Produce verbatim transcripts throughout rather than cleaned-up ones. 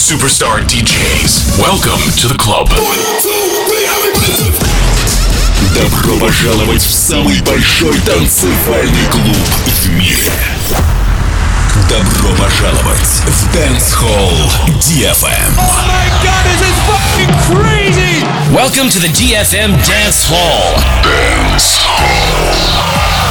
Superstar ди джейс. Welcome to the club. Добро пожаловать в самый большой танцевальный клуб в мире. Добро пожаловать в Dance Hall ди эф эм. Oh my god, this is fucking crazy! Welcome to the ди эф эм Dance Hall. Dance Hall.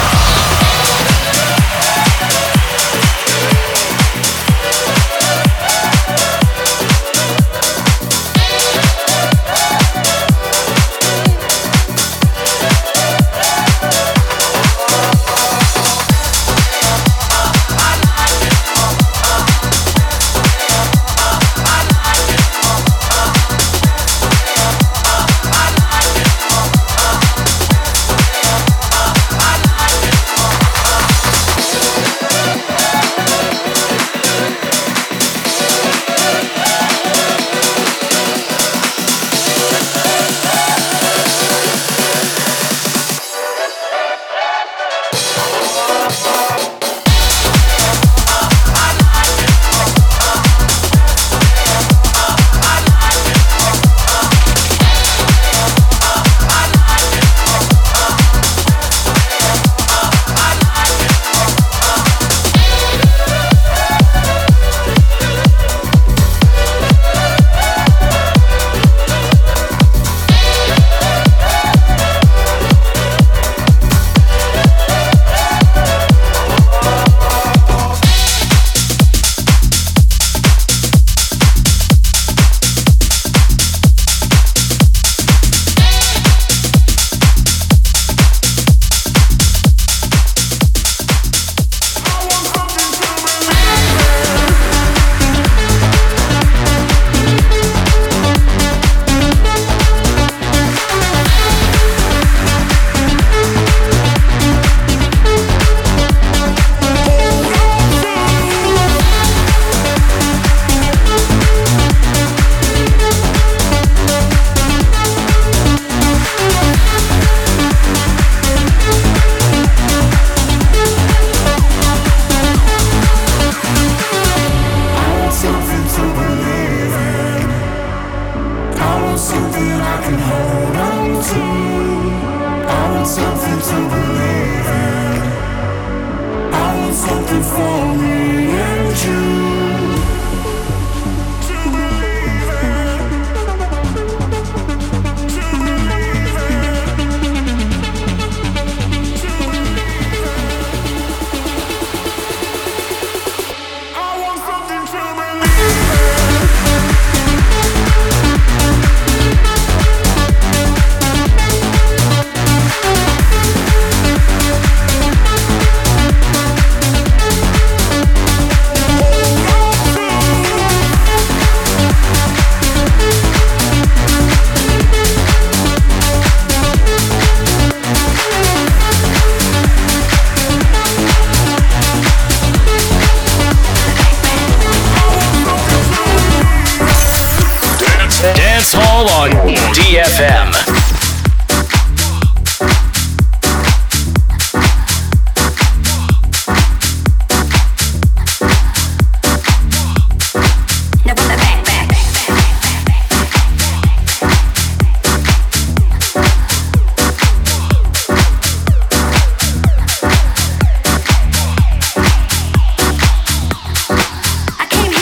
ди эф эм.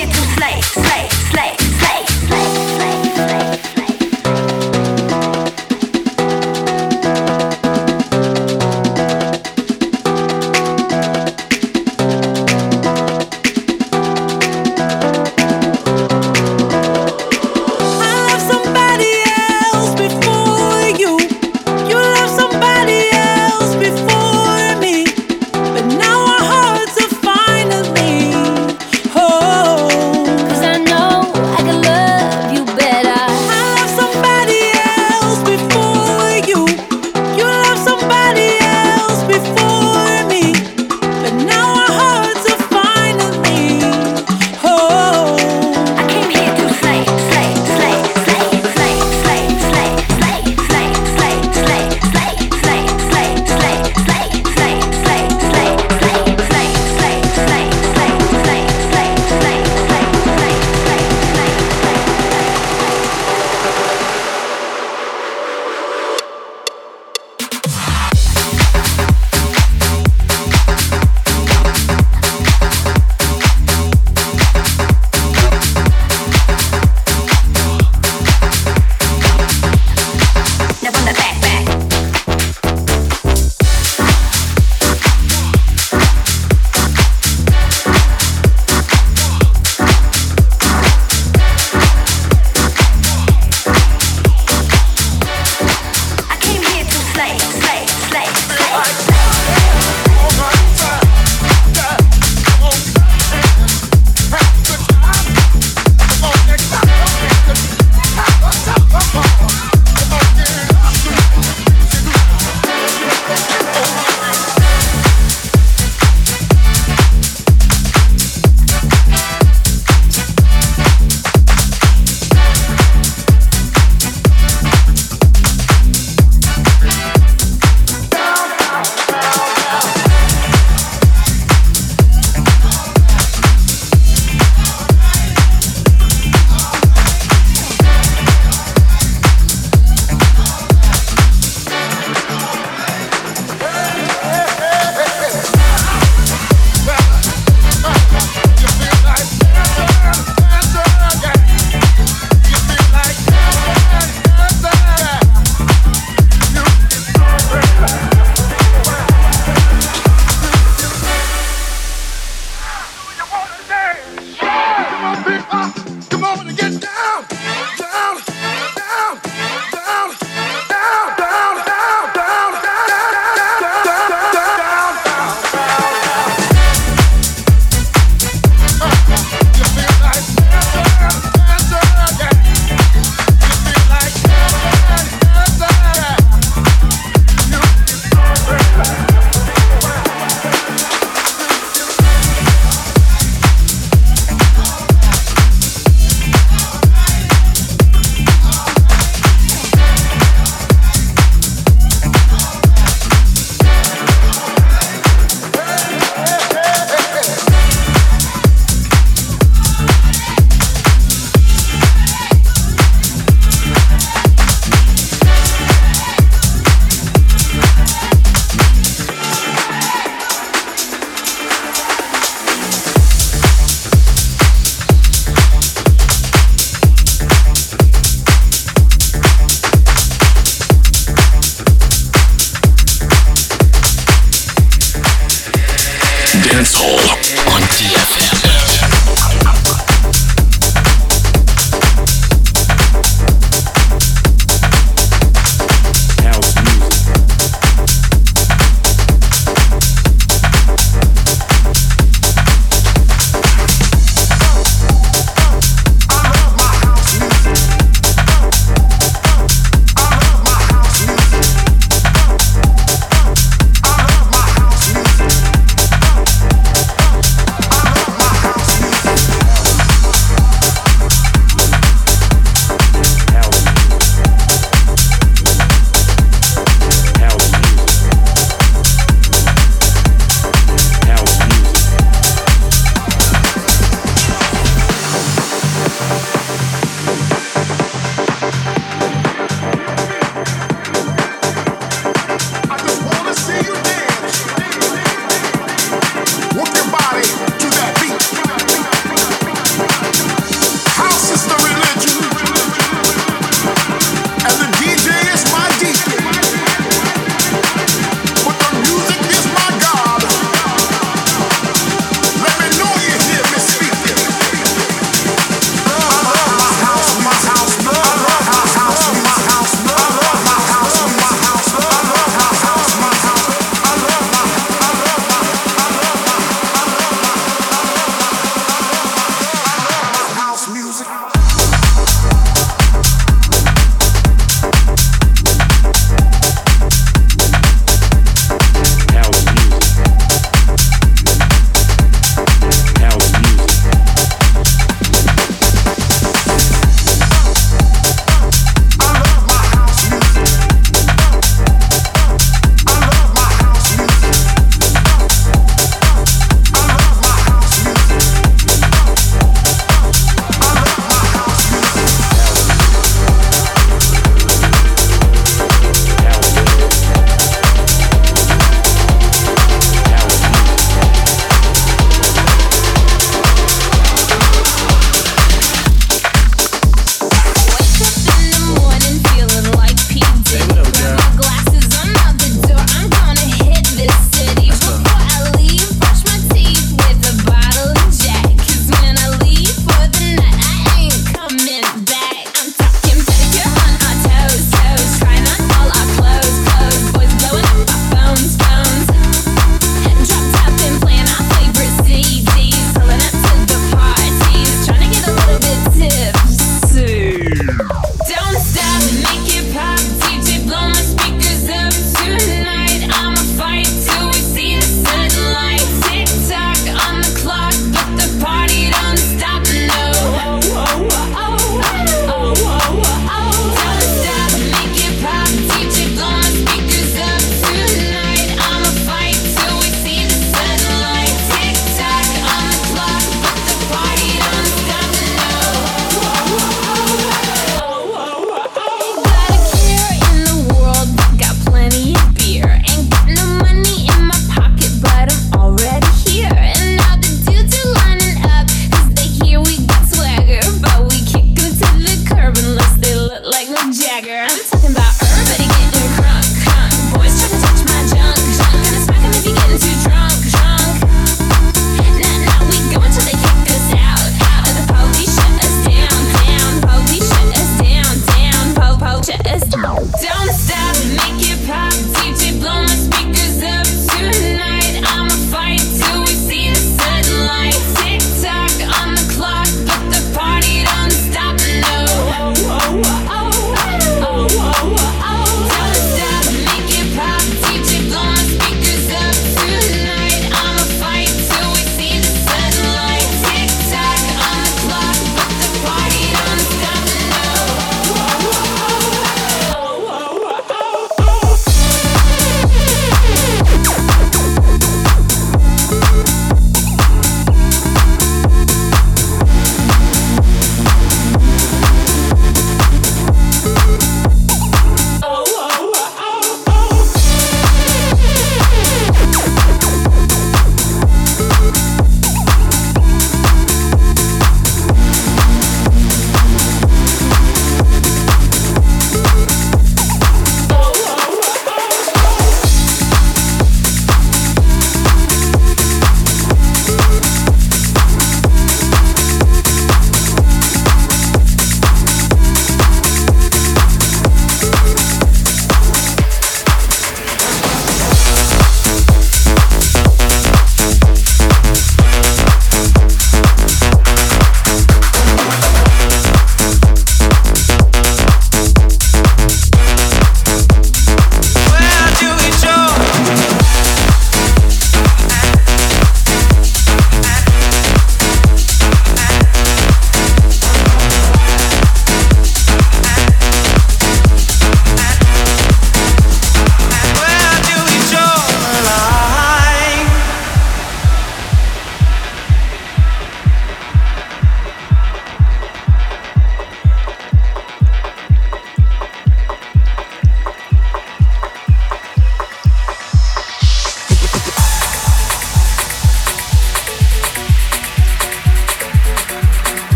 Slay, slay, slay, slay, slay, slay, slay.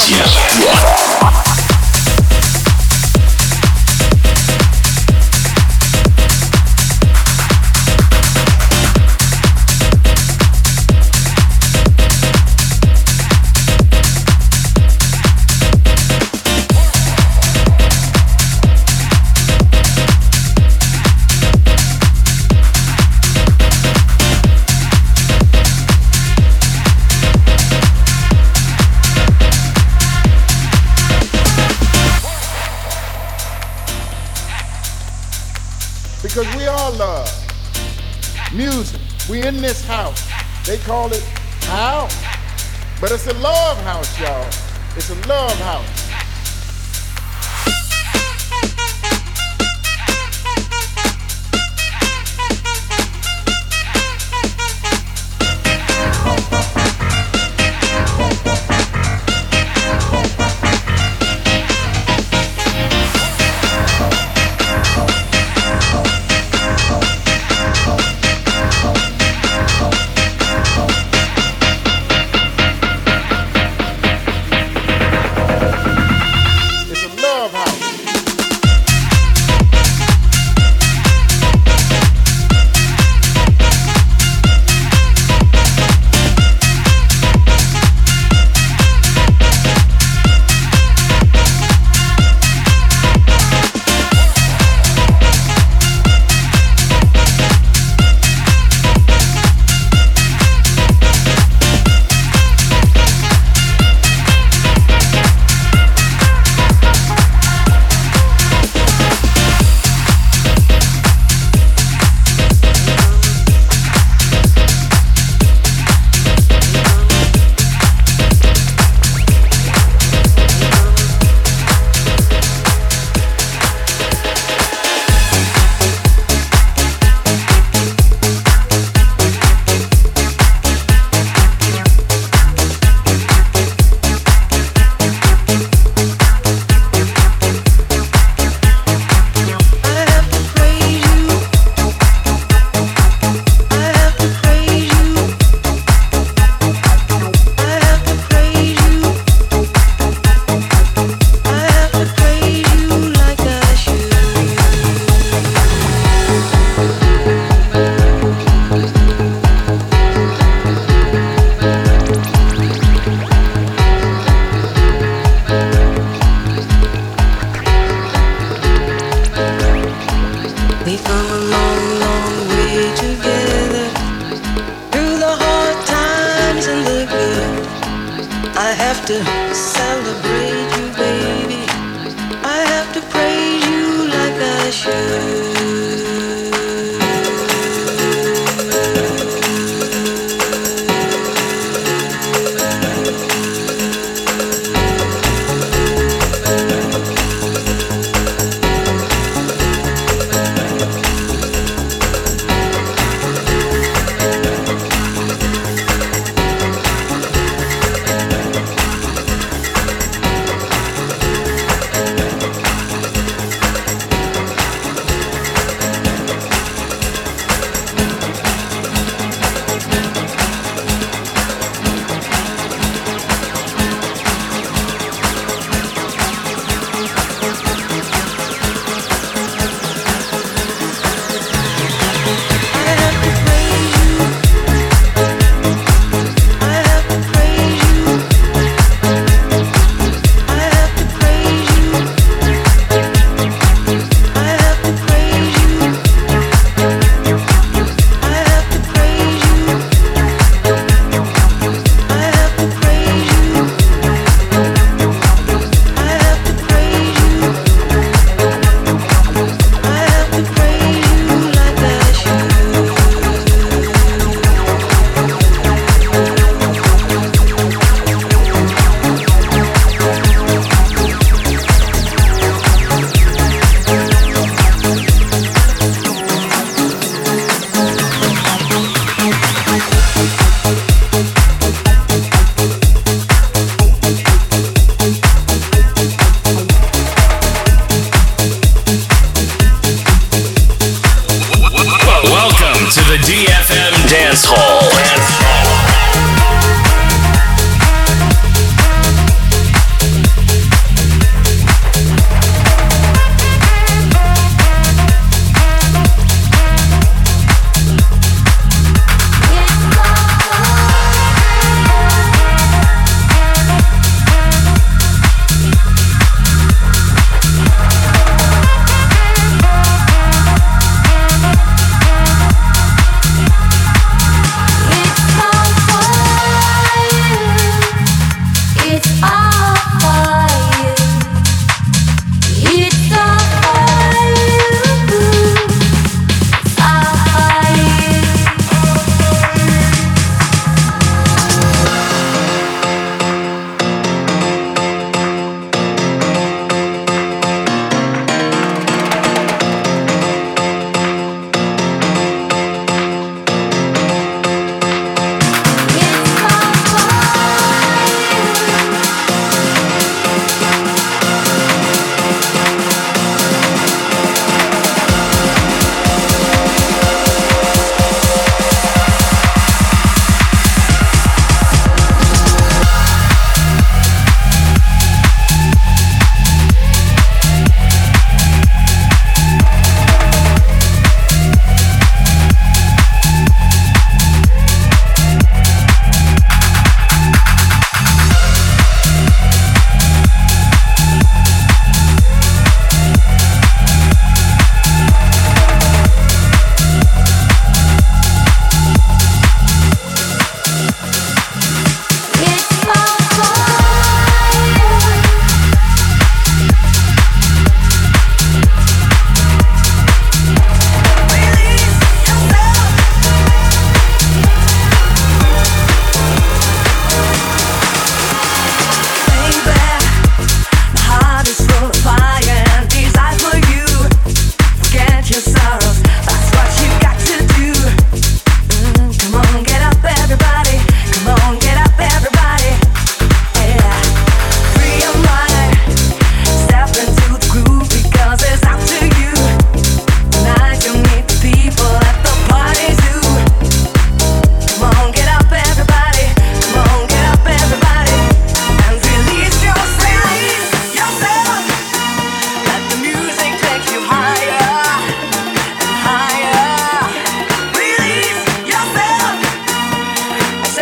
Because we all love music. We in this house. They call it house, but it's a love house, y'all. It's a love house.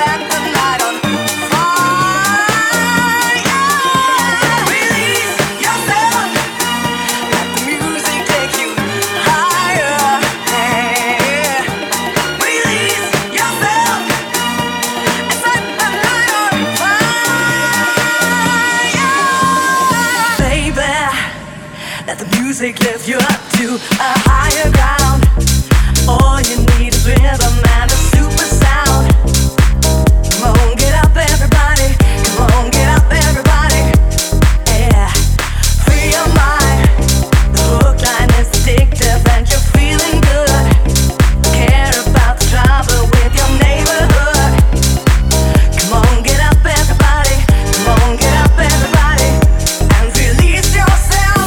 Lift you up to a higher ground. All you need is rhythm and a super sound. Come on, get up everybody. Come on, get up everybody. Yeah, free your mind. The hook line is addictive and you're feeling good. Care about the trouble with your neighborhood. Come on, get up everybody. Come on, get up everybody. And release yourself.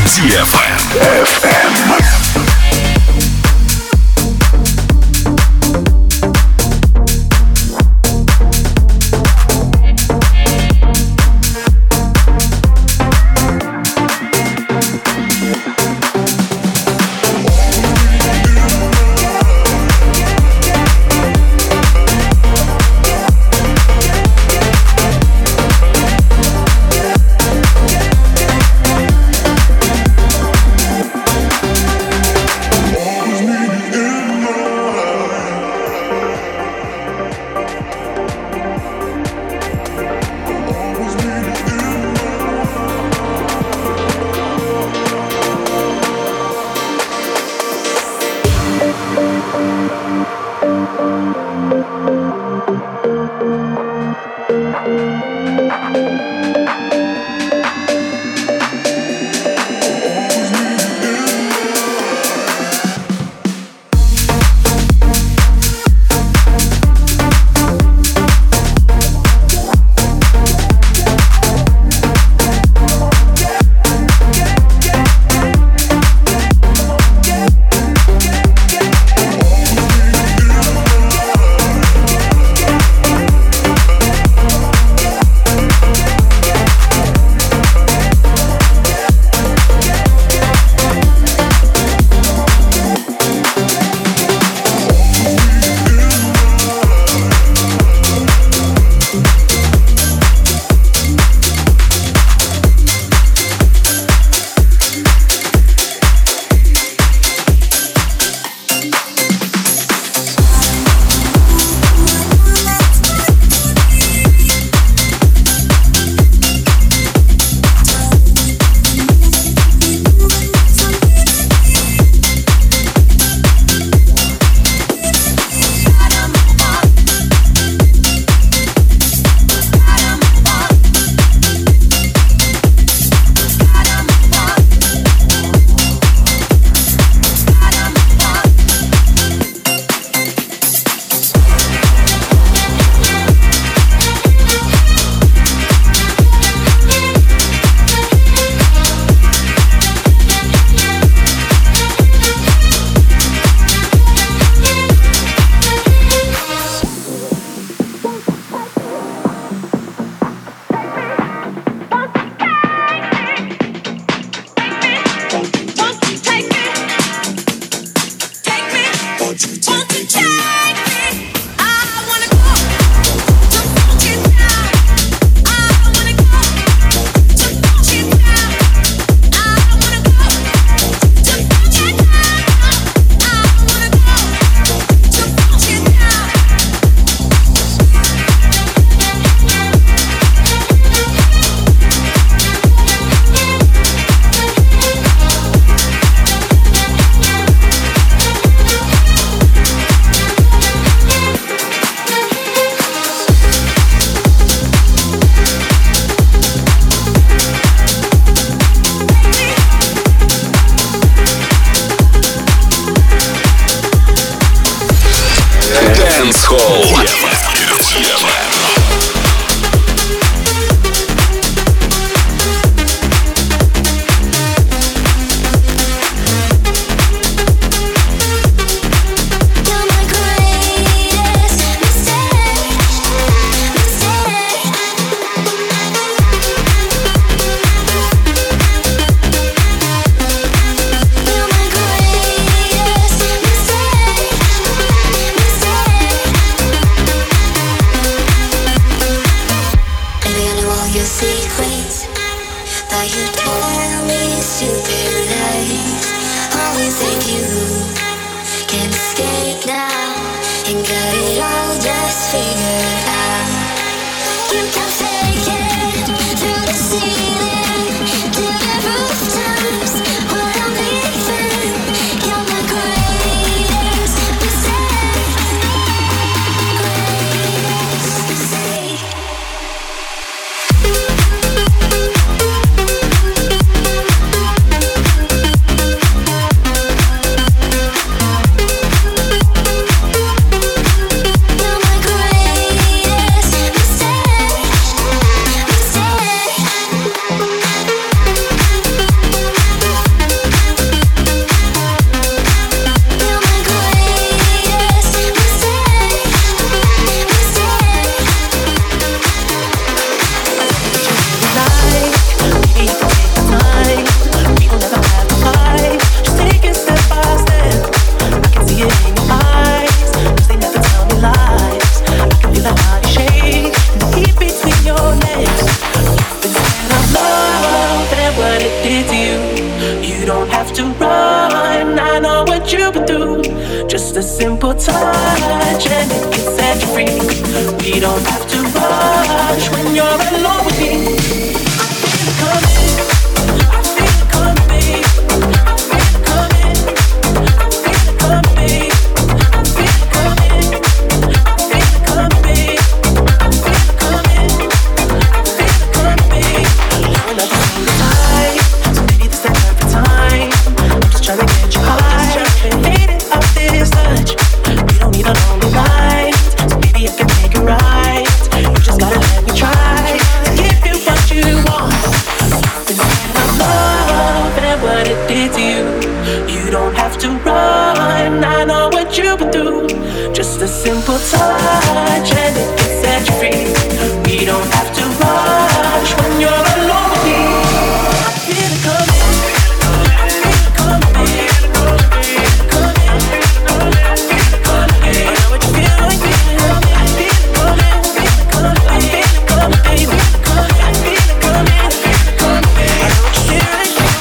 ди эф эм. don't have to run, I know what you've been through. Just a simple touch and it can set you free. We don't have to rush when you're alone with me. I feel it coming, I feel it coming, babe. I feel it coming, I feel it coming, babe. I feel it coming, I feel it coming, babe. I feel it coming, I feel it coming, babe. Another single time, so maybe this is the perfect time. I'm just trying to get you high, faded off this touch. We don't need a lonely night, so maybe I can make it right. You just gotta let me try to give you what you want. Instead of love and what it did to you, you don't have to run. I know what you've been through. Just a simple touch and it can set you free. We don't have to rush when you're alone with me. I feel it coming, I feel it coming, babe. I feel it coming, I feel it coming, babe. I know what you feel like, babe. I feel it coming, I feel it coming, I feel it coming, babe. I feel it coming, I feel it coming, babe. I know what you feel like, babe.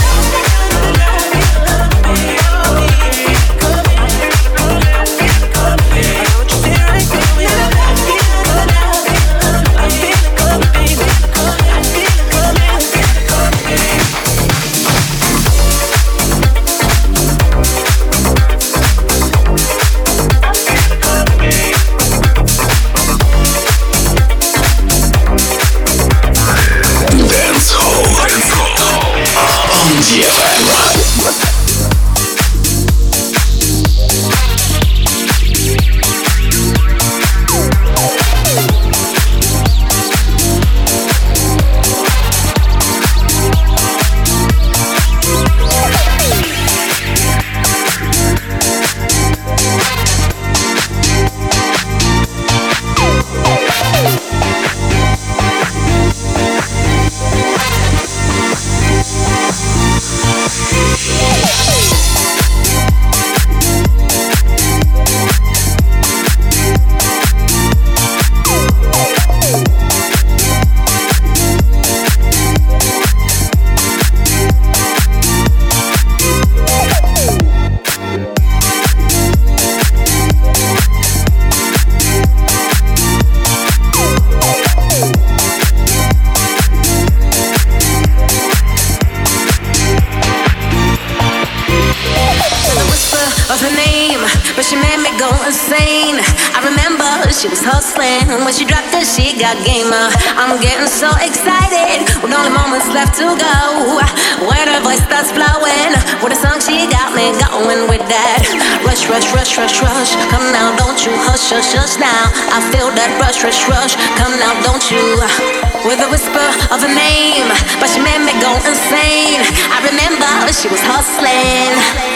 She was hustling, and when she dropped it, she got gamer. I'm getting so excited, with only moments left to go. When her voice starts flowing, with a song she got me going with that. Rush, rush, rush, rush, rush. Come now, don't you hush, hush, hush now. I feel that rush, rush, rush. Come now, don't you. With a whisper of a name, but she made me go insane. I remember she was hustling.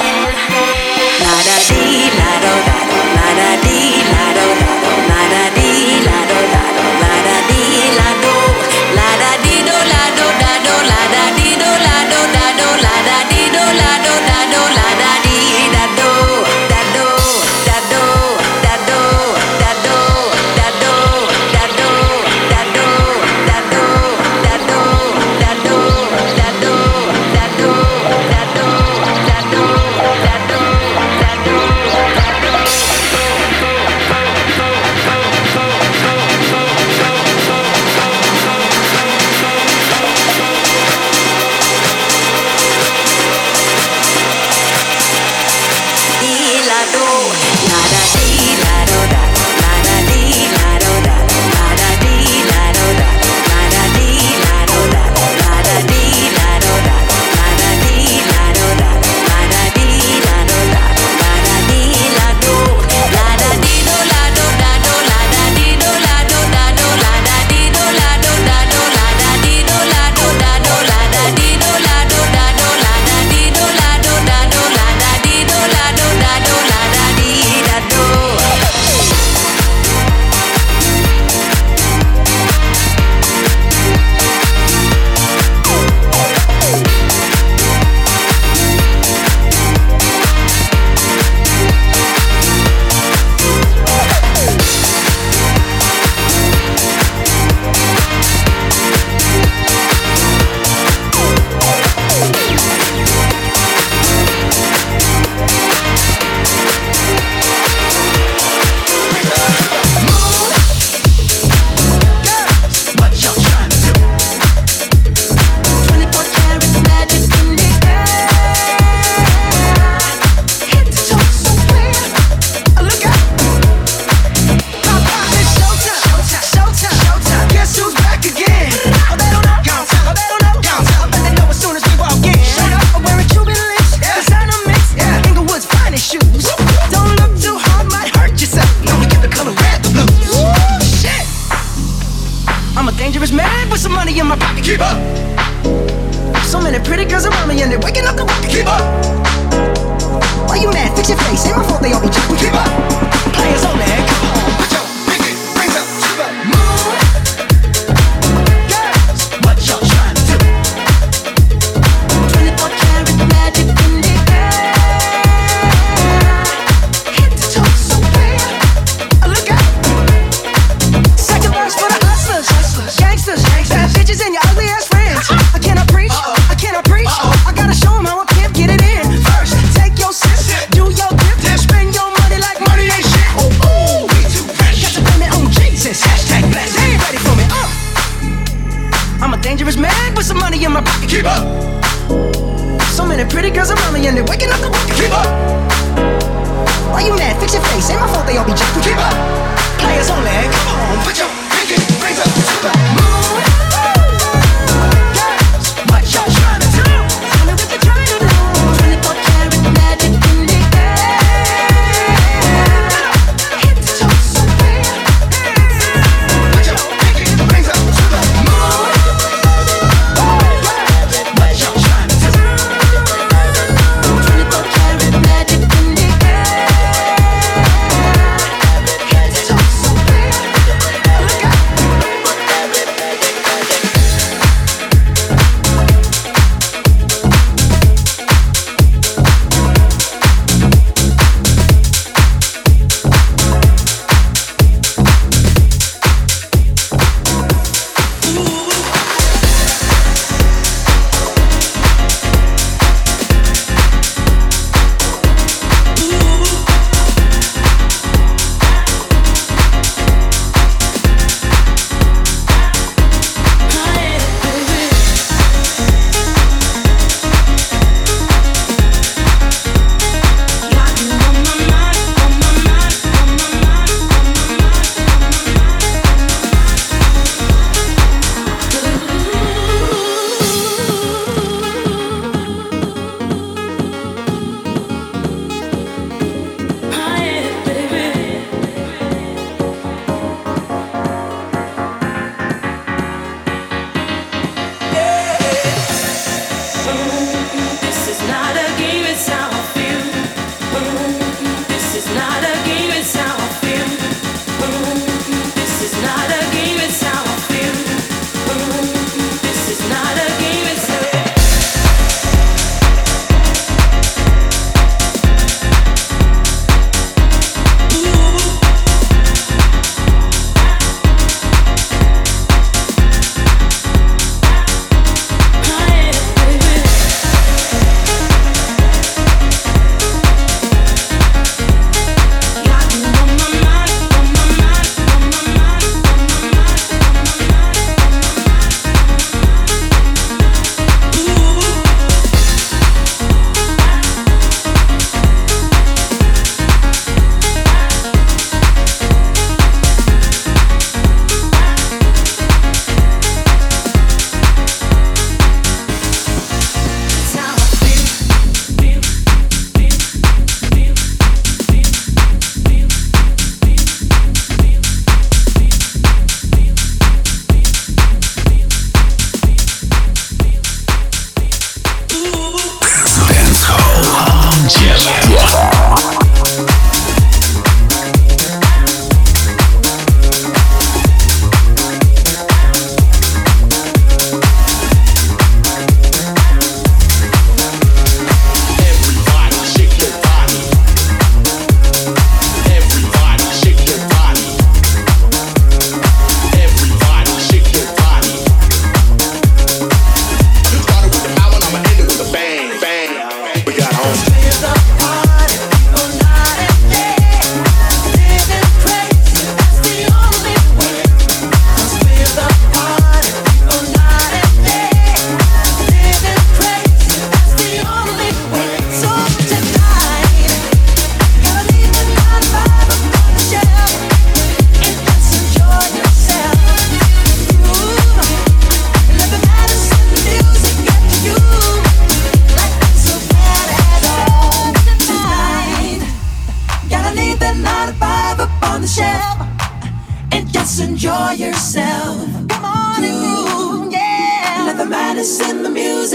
La da dee, la do da do, la da dee, la do da do, la da dee, la do da do, la da dee, la do, la da dee do, la do da do, la da dee do, la do da do, la da dee do, la do da do, la da dee da do, da do, da do, da do, da do, da do, da do, da do, da do, da do, da do, da do, da do, da do, da do, da do, da do. So many pretty girls around me and they're waking up the rocket. Keep up. Why you mad? Fix your face. Ain't my fault they all be jacking. Keep up. Players only. Come on, put your pinky rings up to the moon. Girls, what y'all trying to do? twenty-four karat magic in the air. Head to toe so clear. Look out. Second verse for the hustlers, gangsters, bad bitches and your ugly ass friends. I cannot preach, I cannot preach. I gotta show them how a pimp get it in. First, take your sip, do your dip, spend your money like money ain't shit. Ooh, ooh, we too fresh. Got to blame it on Jesus. Hashtag blessed. They ain't ready for me. Uh. I'm a dangerous man with some money in my pocket. Keep up. So many pretty girls around me and they're waking up the rocket. Keep up. Why you mad? Fix your face. Ain't my fault they all be jacking. Keep up. Players only. Come on, put your pinky rings up to the moon. Girls, what y'all trying to do? Tell me what you're trying to do. twenty-four karat magic in the air. Head to toe so clear. Put your pinky rings up to the moon. Girls, what y'all trying to do? twenty-four karat magic in the air. Head to toe so clear. Look out. This is not a game, it's how I feel. This is not a game, it's how I feel. This is not a game, it's how I feel. This is not a game, it's how I feel. Enjoy yourself. Come on and groove, yeah. Let the madness in the music get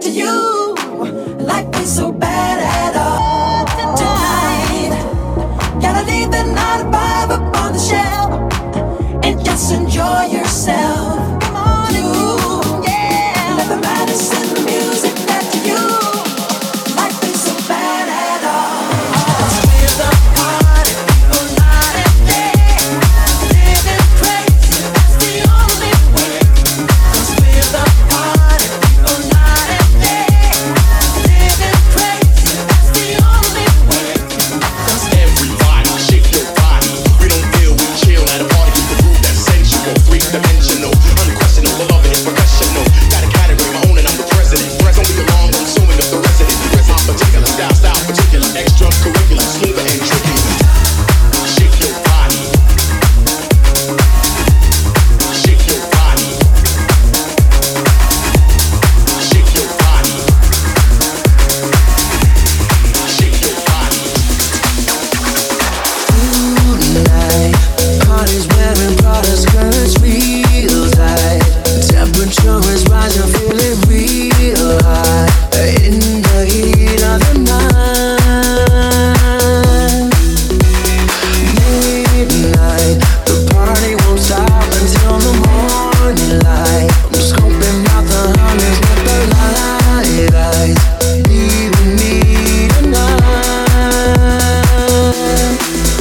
to you. Life ain't so bad at all. Tonight, gotta leave the nine to five up on the shelf and just enjoy yourself. Come on, you, yeah. Let the madness in the music get to you. Life ain't so bad at all. 'Cause we're the party people night and day. Living crazy, that's the only way. 'Cause we're the party people night and day. Living crazy, that's the only way. 'Cause everybody shake your body. We don't feel we chill at a party. Keep the groove that's sensual, three dimensional, unquestionable, love it is professional. Got a category my own and I'm the president. Press only along, I'm suing up the resident. Dress my particular style, style particular, extracurricular, smoother and tricky. Shake your body. Shake your body. Shake your body. Shake your body. Tonight, party's wearing Prada skirts real tight. Temperature is rising, feel it real high. In the heat of the night, midnight, the party won't stop until the morning light. I'm scoping out the hundreds with the light eyes. Leave me tonight.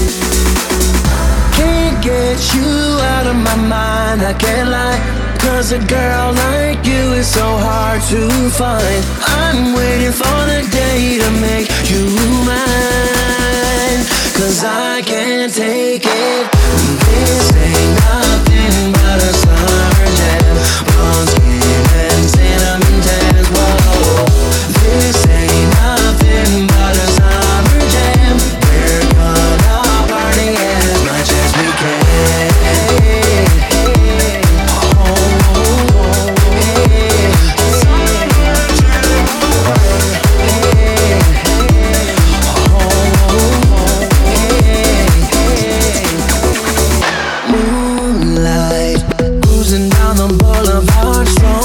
Can't get you out of my mind, I can't lie. 'Cause a girl like you is so hard to find. I'm waiting for the day to make you mine. 'Cause I can't take it. This ain't nothing but a summer jam. Blonde skin and cinnamon tans, whoa. This ain't nothing but a summer jam. We're gonna party as much as we can. Moonlight, cruising down the boulevard, strong.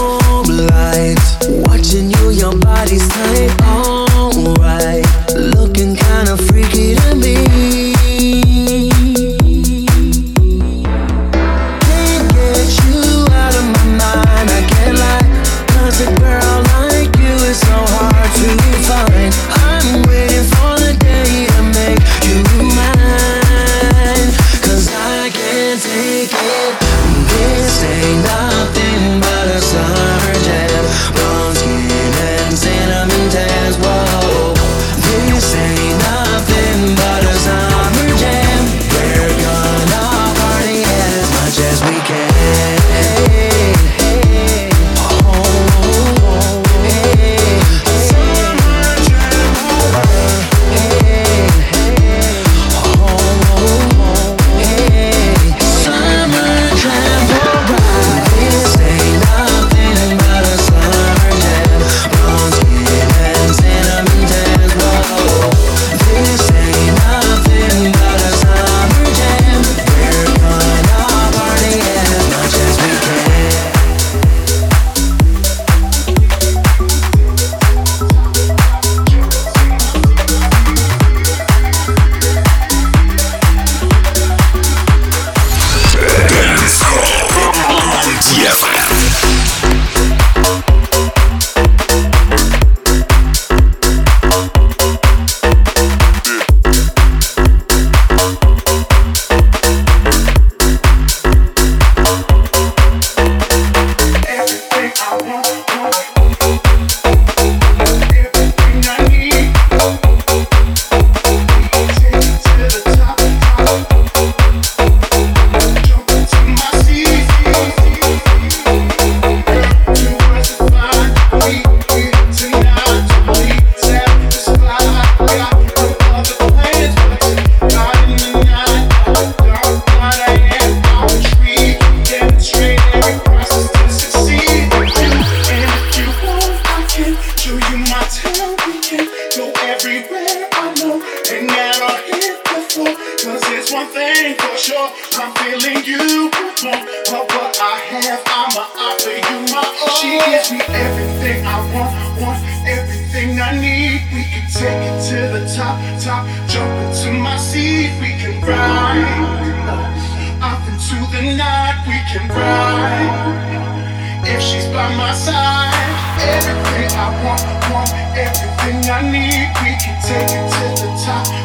everything I want, want, everything I need. We can take it to the top, top, jump into my seat. We can ride off into the night. We can ride if she's by my side. Everything I want, want, everything I need. We can take it to the top.